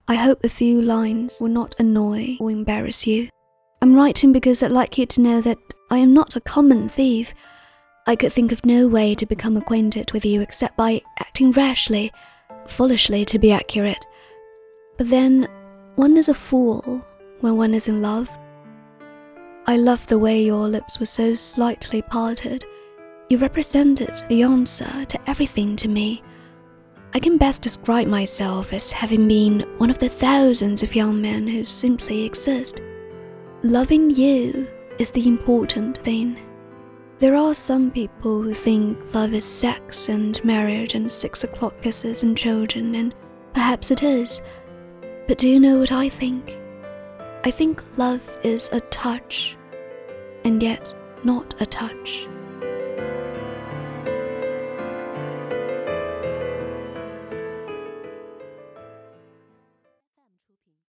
I hope a few lines will not annoy or embarrass you. I'm writing because I'd like you to know that I am not a common thief. I could think of no way to become acquainted with you except by acting rashly, foolishly to be accurate. But then, one is a fool when one is in love. I loved the way your lips were so slightly parted. You represented the answer to everything to me. I can best describe myself as having been one of the thousands of young men who simply exist. Loving you is the important thing. There are some people who think love is sex and marriage and 6 o'clock kisses and children, and perhaps it is. But do you know what I think? I think love is a touch, and yet not a touch.